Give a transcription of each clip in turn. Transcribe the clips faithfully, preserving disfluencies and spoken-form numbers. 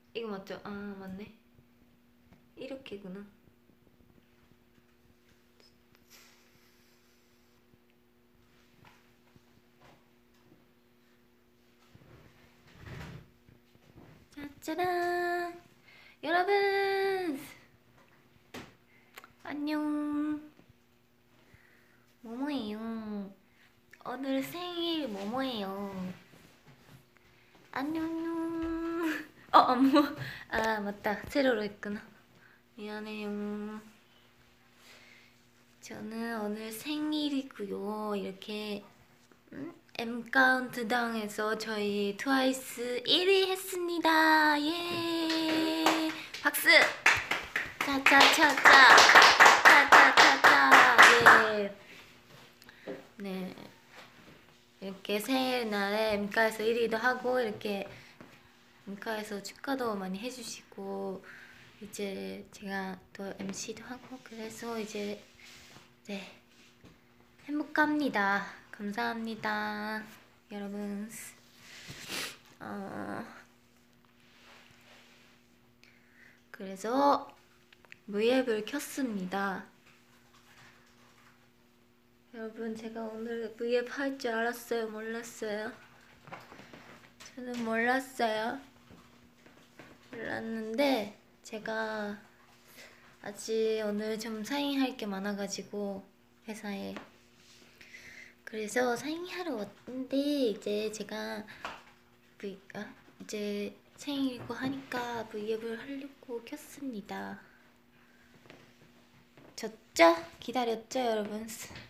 이거 맞죠? 아 맞네. 이렇게구나. 짜짜란. 여러분 안녕. 뭐뭐예요. 오늘 생일 뭐뭐예요. 안녕 안녕. 어 안무. 아 맞다, 세로로 했구나. 미안해요. 저는 오늘 생일이고요. 이렇게 음? M 카운트다운에서 저희 트와이스 일 위 했습니다. 예. 박수. 차차차차. 차차차차. 예. 네. 이렇게 생일날에 엠카에서 일 위도 하고 이렇게 엠카에서 축하도 많이 해주시고 이제 제가 또 엠시도 하고 그래서 이제 네 행복합니다. 감사합니다 여러분. 어, 그래서 브이앱을 켰습니다. 여러분 제가 오늘 브이앱 할 줄 알았어요? 몰랐어요? 저는 몰랐어요. 몰랐는데 제가 아직 오늘 좀 사인할 게 많아가지고 회사에 그래서 사인하러 왔는데 이제 제가 V, 아, 이제 생일이고 하니까 브이앱을 하려고 켰습니다. 졌죠? 기다렸죠 여러분?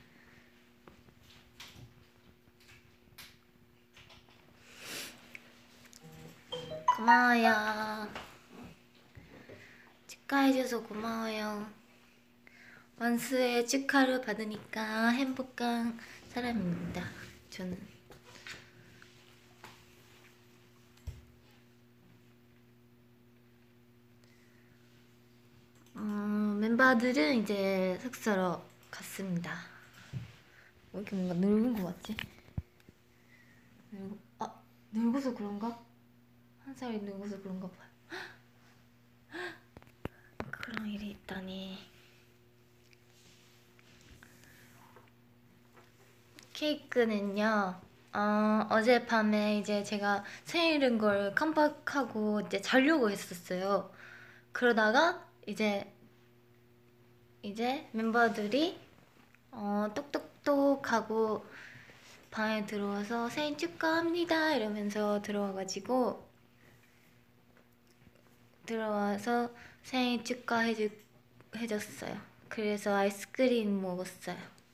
고마워요. 축하해줘서 고마워요. 원수의 축하를 받으니까 행복한 사람입니다. 저는. 음, 멤버들은 이제 숙소로 갔습니다. 왜 이렇게 뭔가 늙은 거 같지? 늙... 아, 늙어서 그런가? 한 살이 늙어서 그런가 봐요. 그런 일이 있다니. 케이크는요, 어, 어젯밤에 이제 제가 생일인 걸 깜빡하고 이제 자려고 했었어요. 그러다가 이제 이제 멤버들이 어, 똑똑똑 하고 방에 들어와서 생일 축하합니다 이러면서 들어와가지고 들어와서 생일 축하해주, 해줬어요. 그래서 아이스크림 먹었어요.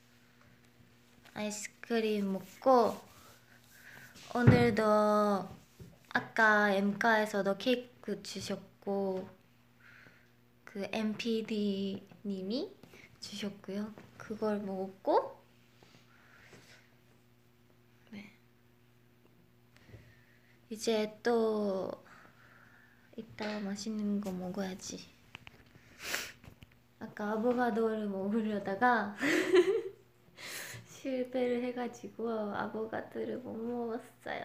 아이스크림 먹고 오늘도 아까 엠카에서도 케이크 주셨고 그 엠피디님이 주셨고요. 그걸 먹었고 네. 이제 또 이따 맛있는 거 먹어야지. 아까 아보가도를 먹으려다가 실패를 해가지고 아보가도를 못 먹었어요.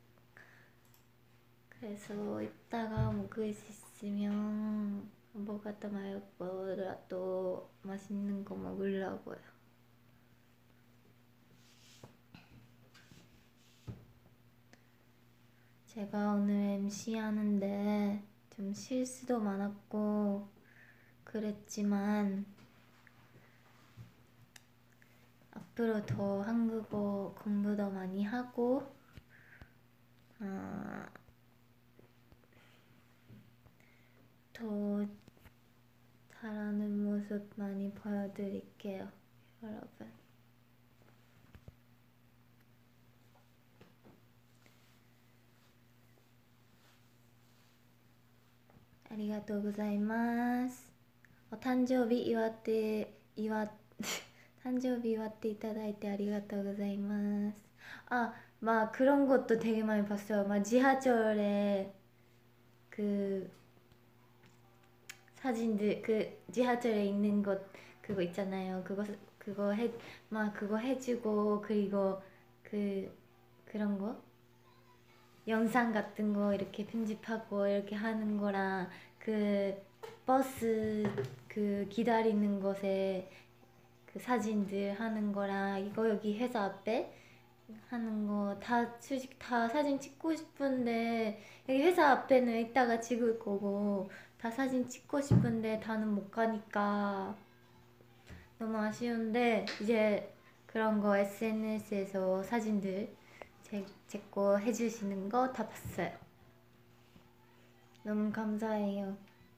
그래서 이따가 먹을 수 있으면 아보가도 말고라도 맛있는 거 먹으려고요. 제가 오늘 엠씨 하는데 좀 실수도 많았고 그랬지만 앞으로 더 한국어 공부도 많이 하고 어, 더 잘하는 모습 많이 보여드릴게요 여러분. 아리가또 고자이마스. 어, 誕生日祝って祝っ誕生日祝っていただいてありがとうございます。 아, 막 그런 것도 되게 많이 봤어요. 막 지하철에 그 사진들 그 지하철에 있는 것 그거 있잖아요. 그거 그거 해 막 그거 해주고 그리고 그 그런 거 영상 같은 거 이렇게 편집하고 이렇게 하는 거랑 그 버스 그 기다리는 곳에 그 사진들 하는 거랑 이거 여기 회사 앞에 하는 거 다 솔직히 다 사진 찍고 싶은데 여기 회사 앞에는 이따가 찍을 거고 다 사진 찍고 싶은데 다는 못 가니까 너무 아쉬운데 이제 그런 거 에스엔에스에서 사진들 제, 제거 해주시는 거 다 봤어요. 너무 감사해요.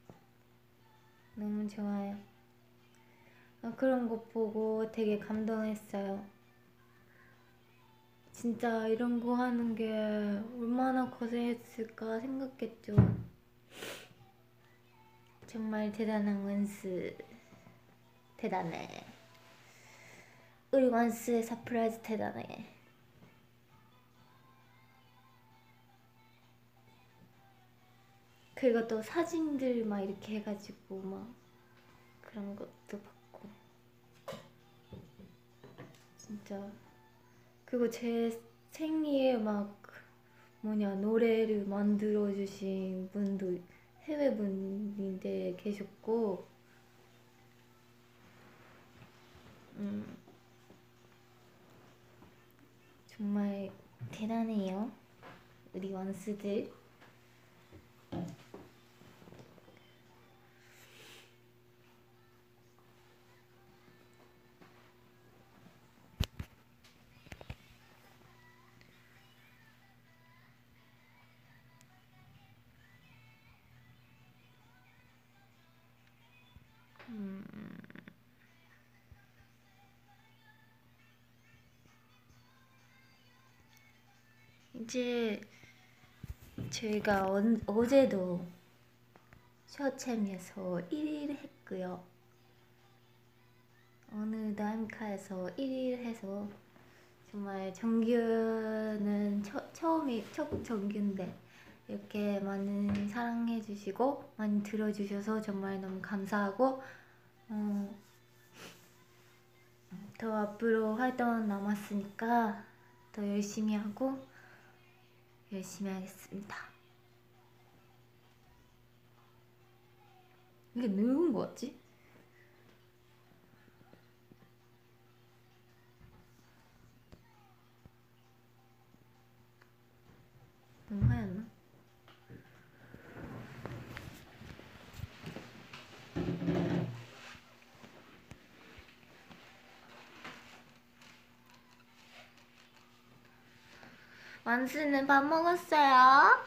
너무 좋아요. 아, 그런 거 보고 되게 감동했어요. 진짜 이런 거 하는 게 얼마나 고생했을까 생각했죠. 정말 대단한 원스. 대단해. 우리 원스의 서프라이즈 대단해. 그리고 또 사진들 막 이렇게 해가지고 막 그런 것도 봤고 진짜. 그리고 제 생일에 막 뭐냐 노래를 만들어주신 분도 해외분인데 계셨고 음 정말 대단해요 우리 원스들. 음 이제 저희가 어, 어제도 셔챔에서 일 위를 했고요. 오늘도 엠카에서 일 위를 해서 정말 정규는 처, 처음이 첫 정규인데 이렇게 많은 사랑해주시고 많이 들어주셔서 정말 너무 감사하고 어, 더 앞으로 활동 남았으니까 더 열심히 하고 열심히 하겠습니다. 이게 늙은 거 같지? 너무 하얗나? 완수는 밥 먹었어요?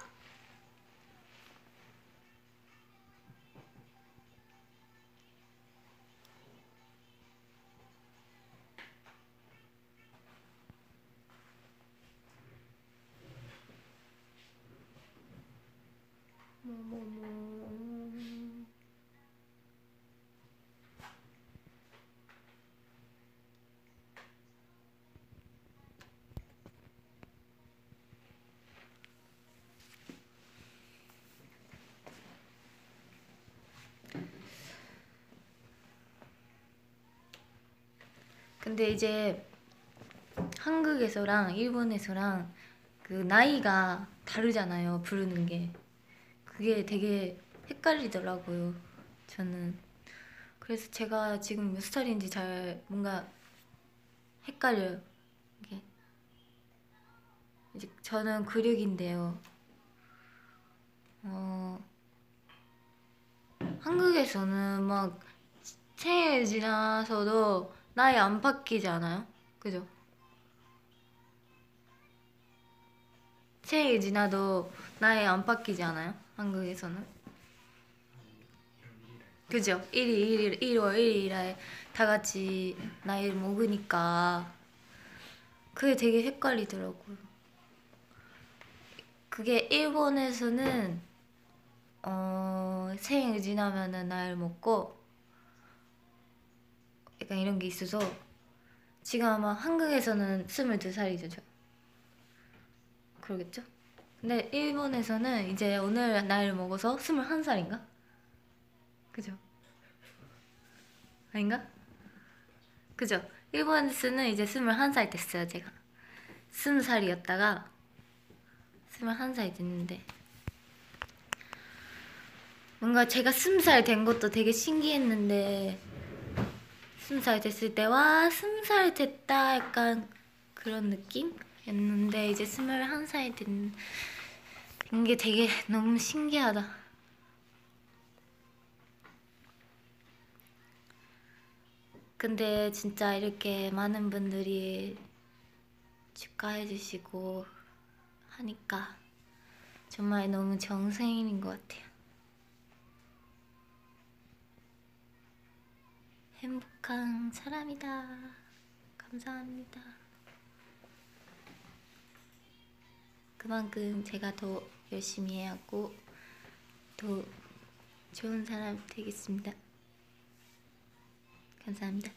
뭐뭐뭐 근데 이제 한국에서랑 일본에서랑 그 나이가 다르잖아요. 부르는 게. 그게 되게 헷갈리더라고요. 저는. 그래서 제가 지금 몇 살인지 잘 뭔가 헷갈려요. 이게. 이제 저는 구십육인데요. 어, 한국에서는 막 생일 지나서도 나이 안 바뀌지 않아요? 그죠? 생일 지나도 나이 안 바뀌지 않아요? 한국에서는? 그죠? 일 일, 일월 일 일에 다 같이 나이를 먹으니까 그게 되게 헷갈리더라고요. 그게 일본에서는 어, 생일 지나면은 나이를 먹고 약간 이런 게 있어서 지금 아마 한국에서는 스물두 살이죠, 저. 그러겠죠? 근데 일본에서는 이제 오늘 나이를 먹어서 스물한 살인가? 그죠? 아닌가? 그죠? 일본에서는 이제 스물한 살 됐어요, 제가. 스무 살이었다가 스물한 살 됐는데 뭔가 제가 스무 살 된 것도 되게 신기했는데 스무 살 됐을 때 와 스무 살 됐다 약간 그런 느낌이었는데 이제 스물한 살 된 게 되게 너무 신기하다. 근데 진짜 이렇게 많은 분들이 축하해 주시고 하니까 정말 너무 정생일인 것 같아요. 행복한 사람이다. 감사합니다. 그만큼 제가 더 열심히 해야 하고 더 좋은 사람 되겠습니다. 감사합니다.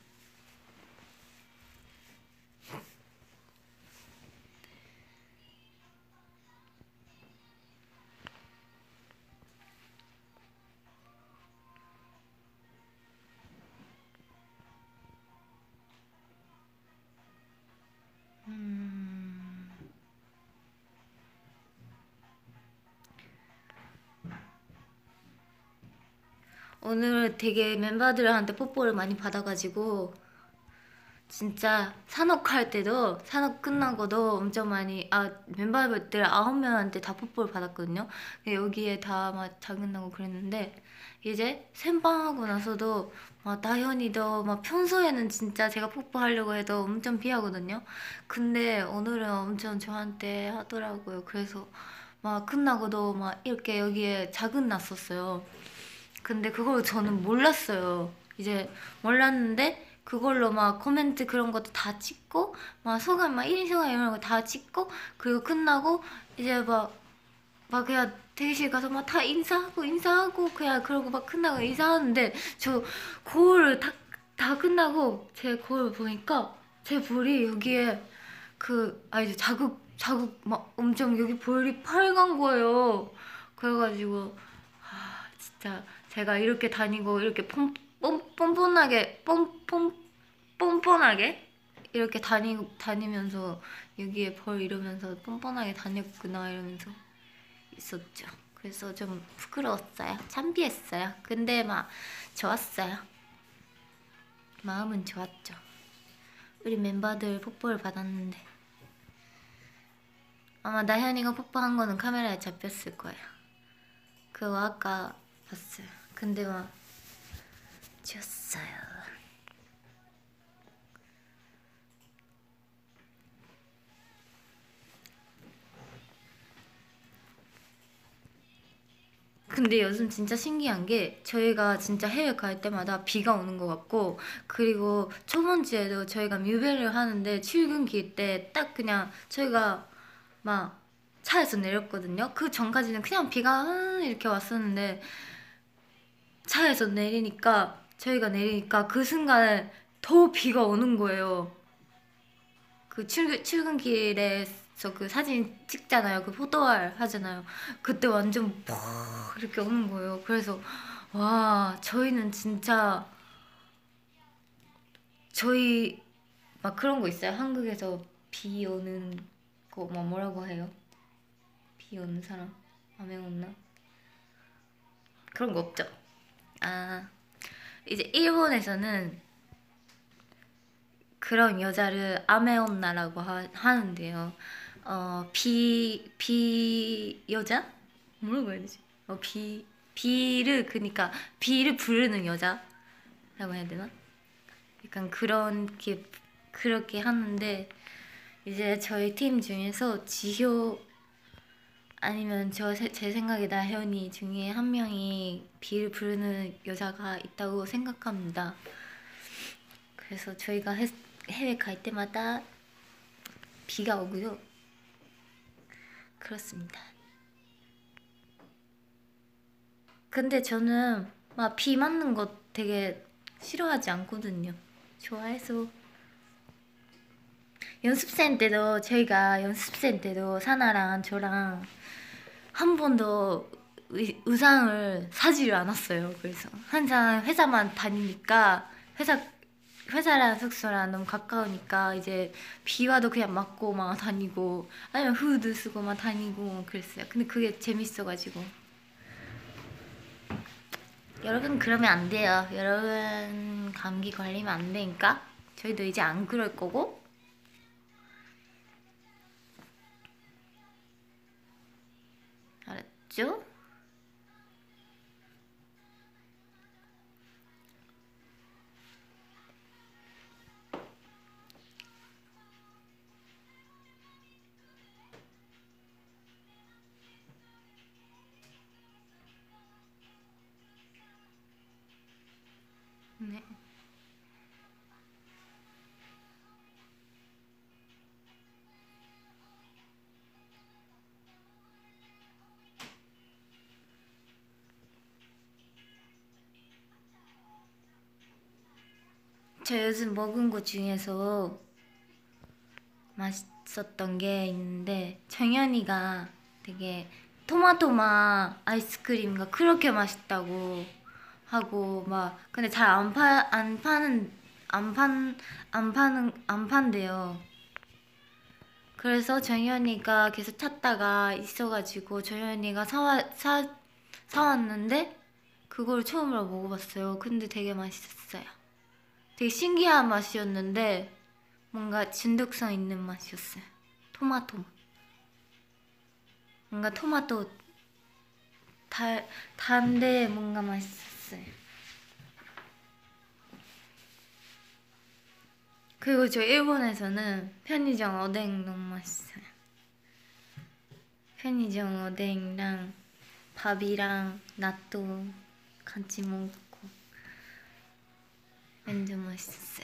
음... 오늘 되게 멤버들한테 뽀뽀를 많이 받아가지고 진짜 산옥할 때도 산옥 끝나고도 엄청 많이 아 멤버들 아홉 명한테 다 뽀뽀를 받았거든요. 여기에 다 막 작은다고 그랬는데 이제 샘방하고 나서도 막 나현이도 막 평소에는 진짜 제가 뽀뽀하려고 해도 엄청 피하거든요. 근데 오늘은 엄청 저한테 하더라고요. 그래서 막 끝나고도 막 이렇게 여기에 작은 났었어요. 근데 그걸 저는 몰랐어요. 이제 몰랐는데 그걸로 막 코멘트 그런 것도 다 찍고 막 소감 막 일 인 소감 이런 거 다 찍고 그리고 끝나고 이제 막 막 그냥 대기실 가서 막 다 인사하고 인사하고 그냥 그러고 막 끝나고 인사하는데 저 거울 다, 다 끝나고 제 거울 보니까 제 볼이 여기에 그 아 이제 자국 자국 막 엄청 여기 볼이 빨간 거예요. 그래가지고 아 진짜 제가 이렇게 다니고 이렇게 pom뻔 뻔뻔하게 뻔뻔 뻔뻔하게 이렇게 다니 다니면서 여기에 벌 이러면서 뻔뻔하게 다녔구나 이러면서 있었죠. 그래서 좀 부끄러웠어요. 창피했어요. 근데 막 좋았어요. 마음은 좋았죠. 우리 멤버들 뽀뽀를 받았는데 아마 나현이가 뽀뽀한 거는 카메라에 잡혔을 거예요. 그거 아까 봤어요. 근데 막 졌어요. 근데 요즘 진짜 신기한 게 저희가 진짜 해외 갈 때마다 비가 오는 것 같고 그리고 저번 주에도 저희가 뮤베를 하는데 출근길 때 딱 그냥 저희가 막 차에서 내렸거든요. 그 전까지는 그냥 비가 이렇게 왔었는데 차에서 내리니까 저희가 내리니까 그 순간에 더 비가 오는 거예요. 그 출근, 출근길에서 그 사진 찍잖아요. 그 포토알 하잖아요. 그때 완전 퍽 이렇게 오는 거예요. 그래서 와 저희는 진짜 저희 막 그런 거 있어요. 한국에서 비 오는 거 뭐 뭐라고 해요? 비 오는 사람? 아메 온나? 그런 거 없죠? 아 이제 일본에서는 그런 여자를 아메온나라고 하, 하는데요. 어, 비, 비 여자? 뭐라고 해야 되지? 어, 비, 비를, 그니까, 비를 부르는 여자라고 해야 되나? 약간 그런 게, 그렇게 하는데, 이제 저희 팀 중에서 지효, 아니면 저, 제 생각에 나현이 중에 한 명이 비를 부르는 여자가 있다고 생각합니다. 그래서 저희가 해, 해외 갈 때마다 비가 오고요. 그렇습니다. 근데 저는 막 비 맞는 거 되게 싫어하지 않거든요. 좋아해서. 연습생 때도 저희가 연습생 때도 사나랑 저랑 한 번도 의, 의상을 사지를 않았어요. 그래서 항상 회사만 다니니까 회사 회사랑 숙소랑 너무 가까우니까 이제 비 와도 그냥 맞고 막 다니고 아니면 후드 쓰고 막 다니고 그랬어요. 근데 그게 재밌어가지고. 여러분 그러면 안 돼요. 여러분 감기 걸리면 안 되니까 저희도 이제 안 그럴 거고. 알았죠? 네. 저 요즘 먹은 것 중에서 맛있었던 게 있는데 정연이가 되게 토마토맛 아이스크림가 그렇게 맛있다고 하고 막 근데 잘 안 파, 안 파는 안 판, 안 파는 안 판대요. 그래서 정연이가 계속 찾다가 있어가지고 정연이가 사와 사 사왔는데 그걸 처음으로 먹어봤어요. 근데 되게 맛있었어요. 되게 신기한 맛이었는데 뭔가 중독성 있는 맛이었어요. 토마토. 뭔가 토마토 달, 단데 뭔가 맛있었어요. 그리고 저 일본에서는 편의점 어묵 너무 맛있어요. 편의점 어묵이랑 밥이랑 나또 같이 먹고 완전 맛있었어요.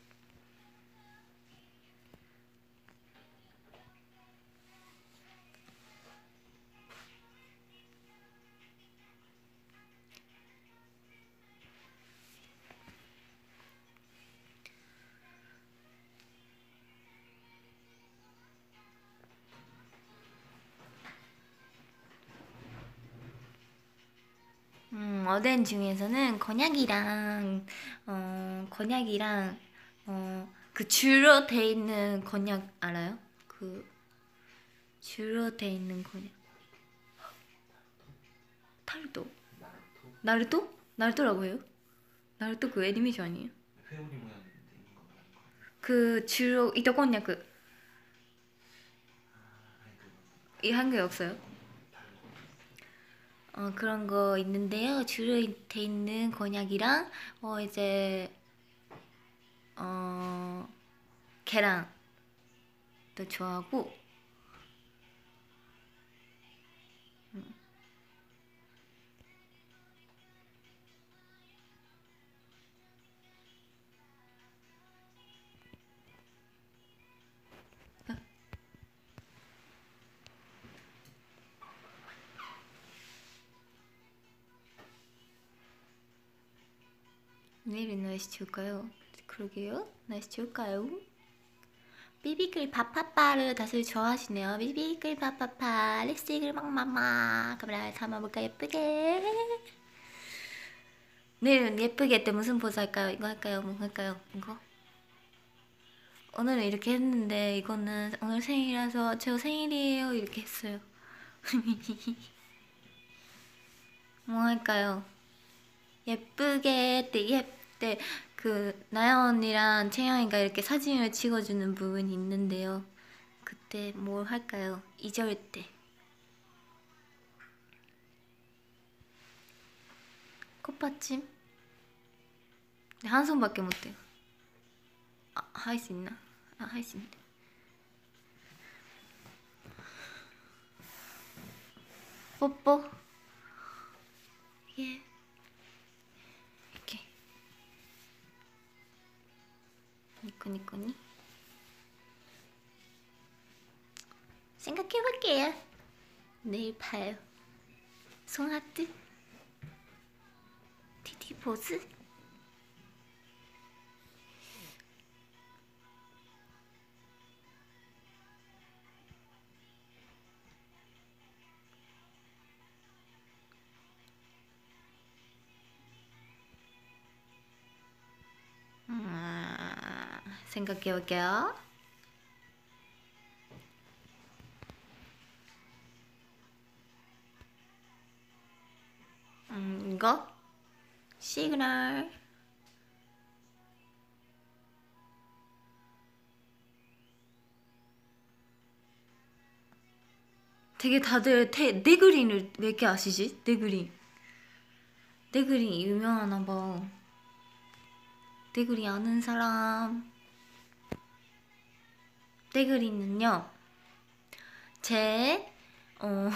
음, 어덴 중에서는 건약이랑 어 건약이랑 어 그 줄로 돼 있는 건약 알아요? 그 줄로 돼 있는 건약. 타르토. 나루토? 나루토라고 해요? 나루토 그 애니메이션 아니에요? 회오리 모양 있는 거 말하는 거. 그 줄로 이토 건약 아, 아니 그거 이 한국에 없어요? 다른 거. 어 그런 거 있는데요. 줄로 돼 있는 건약이랑 어 이제 어 계란도 좋아하고 내일은 날씨 좋을까요? 그러게요. 날씨 좋을까요? 비비글 파파파를 다들 좋아하시네요. 비비글 파파파 립스틱을 막막막 카메라에 담아볼까 예쁘게. 내일은 예쁘게 할 때 무슨 포즈 할까요? 이거 할까요? 뭐 할까요? 이거? 오늘은 이렇게 했는데 이거는 오늘 생일이라서 저 생일이에요 이렇게 했어요. 뭐 할까요? 예쁘게 때 예때 그 나연 언니랑 채영이가 이렇게 사진을 찍어주는 부분이 있는데요. 그때 뭘 할까요? 이 절 때 꽃받침? 네, 한 손밖에 못해요. 아, 할 수 있나? 아, 할 수 있는데. 뽀뽀. 예. 이렇게. 니코니코니. 생각해볼게요. 내일 봐요. 송하트. 티티 포즈. 음. 생각해 볼게요. 음, 이거 시그널. 되게 다들 테, 네그린을 왜 이렇게 아시지? 네그린. 네그린 유명하나 봐. 네그린 아는 사람. 네그린은요, 제, 어,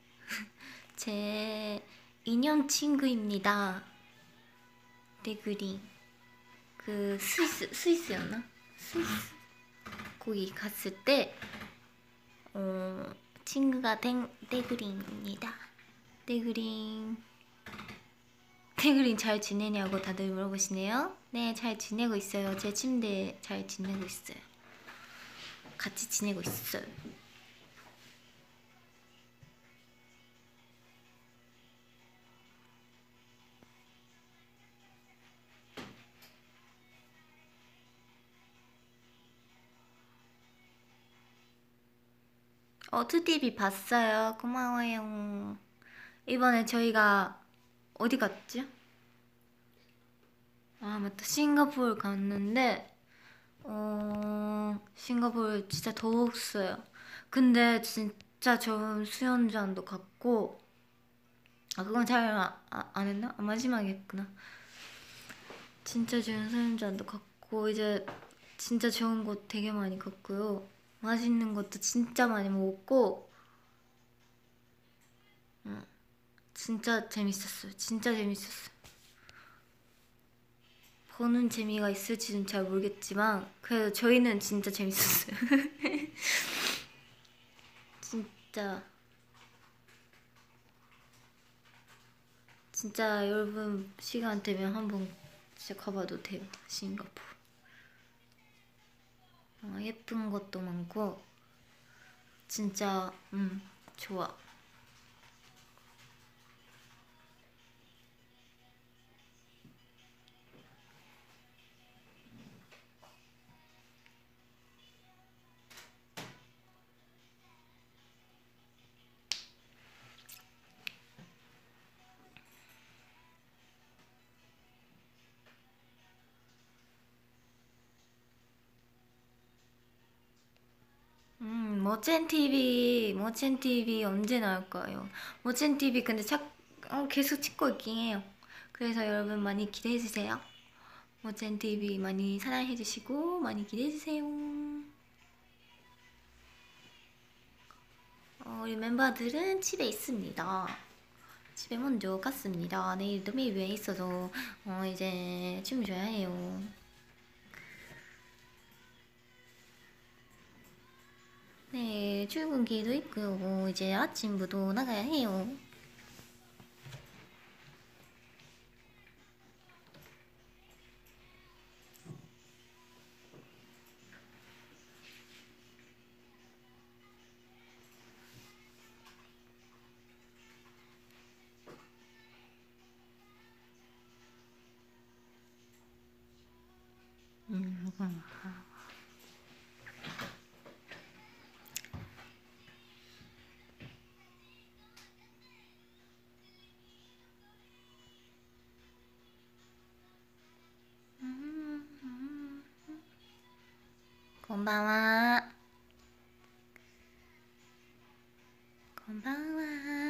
제 인연 친구입니다. 네그린. 그 스위스, 스위스였나? 스위스. 거기 갔을 때, 어, 친구가 된 네그린입니다. 네그린. 네그린 잘 지내냐고 다들 물어보시네요. 네, 잘 지내고 있어요. 제 침대에 잘 지내고 있어요. 같이 지내고 있어요. 어, 투디비 봤어요. 고마워요. 이번에 저희가 어디 갔지? 아, 맞다. 싱가포르 갔는데, 어, 싱가포르 진짜 더웠어요. 근데 진짜 좋은 수영장도 갔고, 아, 그건 잘 안 했나? 아, 마지막에 했구나. 진짜 좋은 수영장도 갔고, 이제 진짜 좋은 곳 되게 많이 갔고요. 맛있는 것도 진짜 많이 먹었고, 응, 진짜 재밌었어요. 진짜 재밌었어요. 보는 재미가 있을지는 잘 모르겠지만, 그래도 저희는 진짜 재밌었어요. 진짜. 진짜 여러분 시간 되면 한번 진짜 가봐도 돼요. 싱가포르. 어, 예쁜 것도 많고 진짜 음 좋아. 음 멋진 티비 멋진 티비 언제 나올까요? 멋진 티비 근데 착 어, 계속 찍고 있긴 해요. 그래서 여러분 많이 기대해 주세요. 멋진 티비 많이 사랑해 주시고 많이 기대해 주세요. 어, 우리 멤버들은 집에 있습니다. 집에 먼저 갔습니다. 내일도 메이브에 있어서 어, 이제 춤 춰야 해요. 네, 출근기도 있고 이제 아침부터 나가야 해요. 음, 음. 건방와 건방와.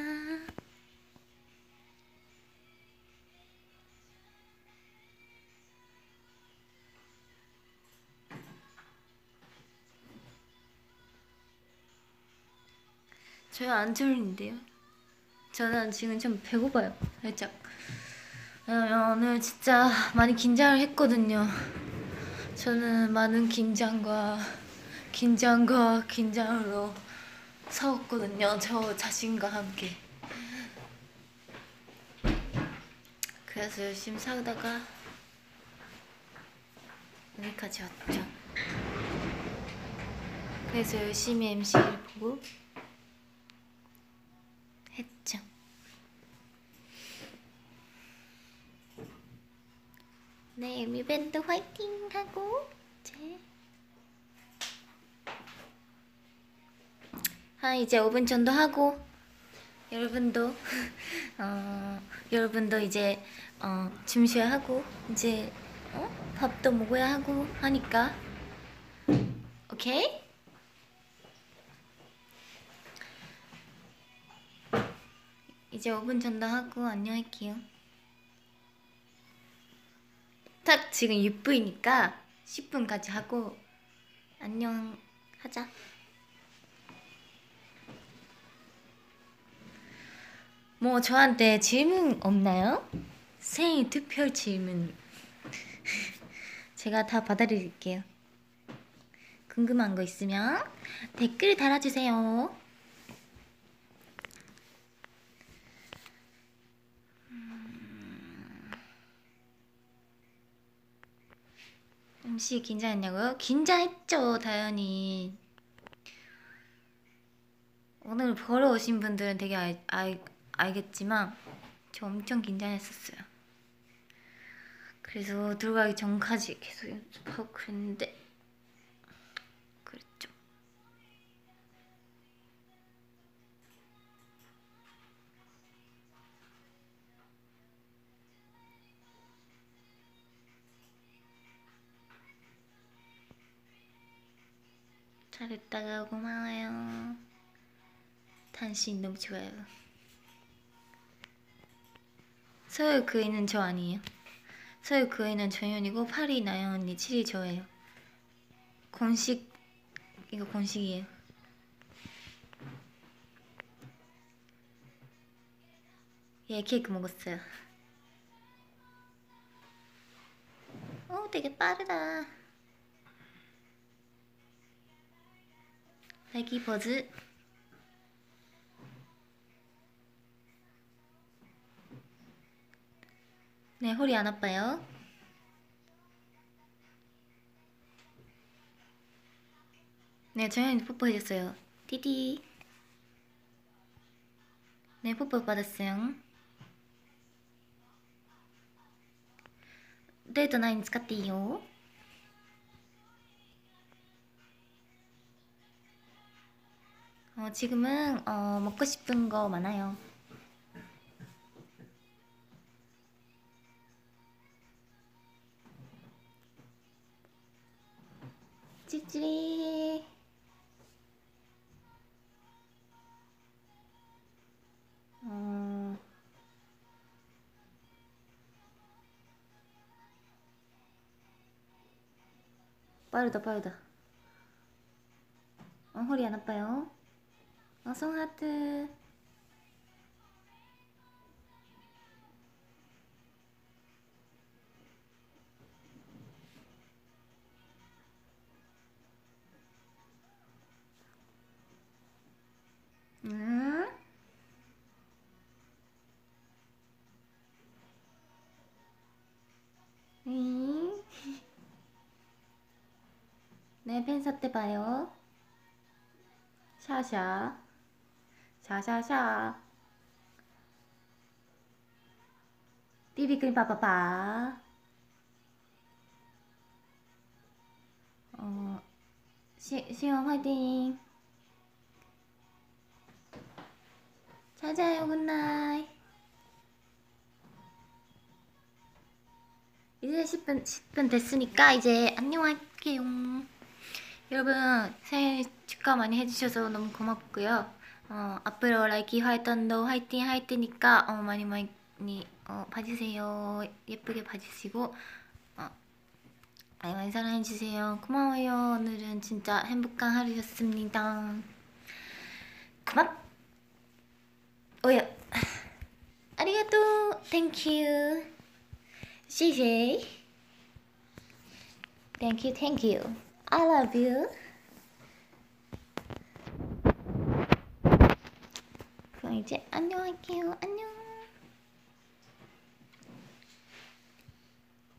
저요 안 졸린데요? 저는 지금 좀 배고파요. 살짝. 왜냐면 오늘 진짜 많이 긴장을 했거든요. 저는 많은 긴장과 긴장과 긴장으로 싸웠거든요. 저 자신과 함께. 그래서 열심히 싸우다가 여기까지 왔죠. 그래서 열심히 엠씨를 보고 했죠. 네, 뮤밴드 화이팅 하고 제 자, 이제 오 분 정도 하고 여러분도 어, 여러분도 이제 어, 점심을 하고 이제 어? 밥도 먹어야 하고 하니까 오케이? 이제 오 분 정도 하고 안녕할게요. 딱 지금 육 분이니까 십 분까지 하고 안녕 하자. 뭐 저한테 질문 없나요? 생일 특별 질문 제가 다 받아드릴게요. 궁금한 거 있으면 댓글 달아주세요. 음식 긴장했냐고요? 긴장했죠, 당연히. 오늘 보러 오신 분들은 되게 알, 알, 알겠지만 저 엄청 긴장했었어요. 그래서 들어가기 전까지 계속 연습하고 그랬는데 그랬죠. 잘했다가 고마워요. 당신 너무 좋아요. 서울 그이는 저 아니에요. 서울 그이는 정연이고 팔이 나연 언니, 칠이 저예요. 공식 이거 공식이에요. 예, 케이크 먹었어요. 오, 되게 빠르다. 애기 버즈. 네, 허리 안 아파요. 네, 정연이 뽀뽀해줬어요. 띠디. 네, 뽀뽀 받았어요. 데이트 나인使っていいよ. 어, 지금은 어, 먹고 싶은 거 많아요. 찌찌리. 어... 빠르다 빠르다. 어, 허리 안 아파요. 어, 송하트. 음? 음? 네, 팬사 때 봐요. 샤샤. 샤샤샤. 삐비크림 빠빠빠. 어, 시, 시험 화이팅. 잘 자요, 굿나잇. 이제 십 분, 십 분 됐으니까 이제 안녕할게요. 여러분 생일 축하 많이 해주셔서 너무 고맙고요. 어, 앞으로 라이키 활동도 화이팅 할 테니까 어, 많이 많이 어, 봐주세요. 예쁘게 봐주시고 어, 많이 많이 사랑해주세요. 고마워요. 오늘은 진짜 행복한 하루였습니다. 고맙. 오야. 아리가또. 땡큐. 씨제이. 땡큐 땡큐. I love you. 그럼 이제 안녕할게요. 안녕.